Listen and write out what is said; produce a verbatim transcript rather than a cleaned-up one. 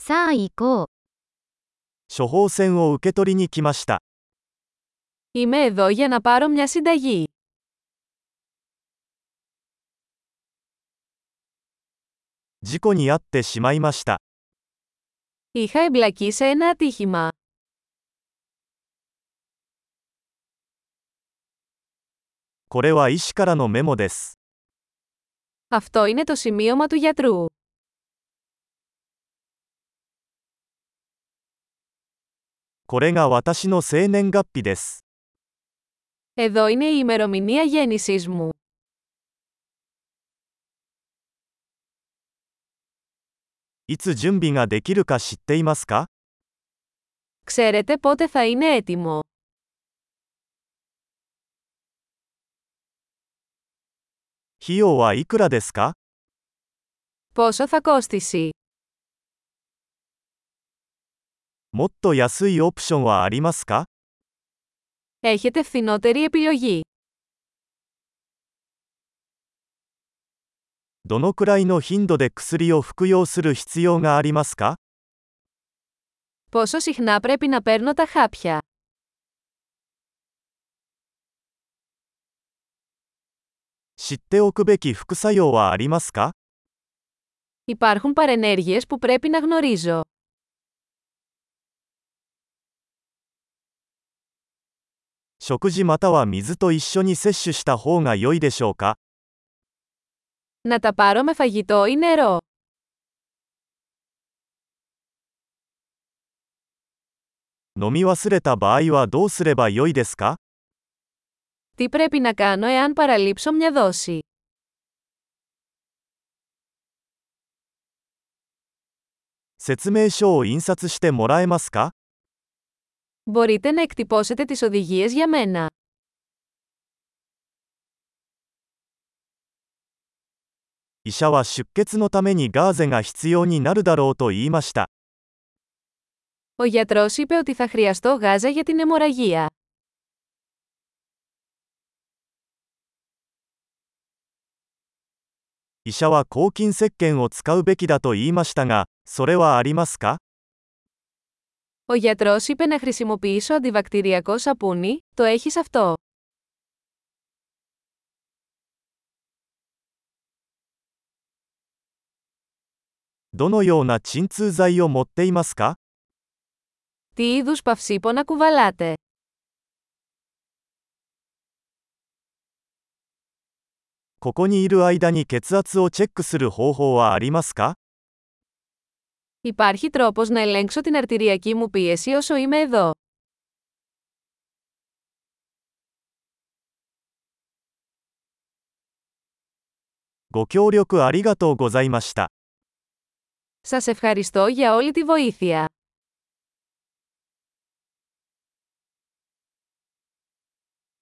さあ行こう。 処方箋を受け取りに来ました。 Είμαι εδώ για να πάρω μια συνταγή. 事故に遭ってしまいました。 Είχα εμπλακεί σε ένα ατύχημα. これは医師からのメモです。 Αυτό είναι το σημείωμα του γιατρού. これが私の生年月日です。 Εδώ είναι η ημερομηνία γέννησής μου. いつ準備ができるか知っていますか？ Ξέρετε πότε θα είναι έτοιμο. 費用はいくらですか？ Πόσο θα κόστησει? もっと安いオプションはありますか？ Έχετε φθηνότερη επιλογή. どのくらいの頻度で薬を服用する必要がありますか？ Πόσο συχνά πρέπει να παίρνω τα χάπια? 知っておくべき副作用はありますか？ Υπάρχουν παρενέργειες που πρέπει να γνωρίζω. 食事または水と一緒に摂取した方が良いでしょうか？ Να τα πάρω με φαγητό ή νερό. 飲み忘れた場合はどうすれば良いですか？ Τι πρέπει να κάνω εάν παραλείψω μια δόση? 説明書を印刷してもらえますか？ Μπορείτε να εκτυπώσετε τις οδηγίες για μένα. 医者は出血のためにガーゼが必要になるだろうと言いました。 Ο γιατρός είπε ότι θα χρειαστώ γάζα για την αιμορραγία. 医者は抗菌石鹸を使うべきだと言いましたが、それはありますか？ Ο γιατρός είπε να χρησιμοποιήσω αντιβακτηριακό σαπούνι, το έχεις αυτό? どのような鎮痛剤を持っていますか？ Τι είδους παυσίπονα κουβαλάτε? ここにいる間に血圧をチェックする方法はありますか？ Υπάρχει τρόπος να ελέγξω την αρτηριακή μου πίεση όσο είμαι εδώ. ご協力ありがとうございました。 Σας ευχαριστώ για όλη τη βοήθεια.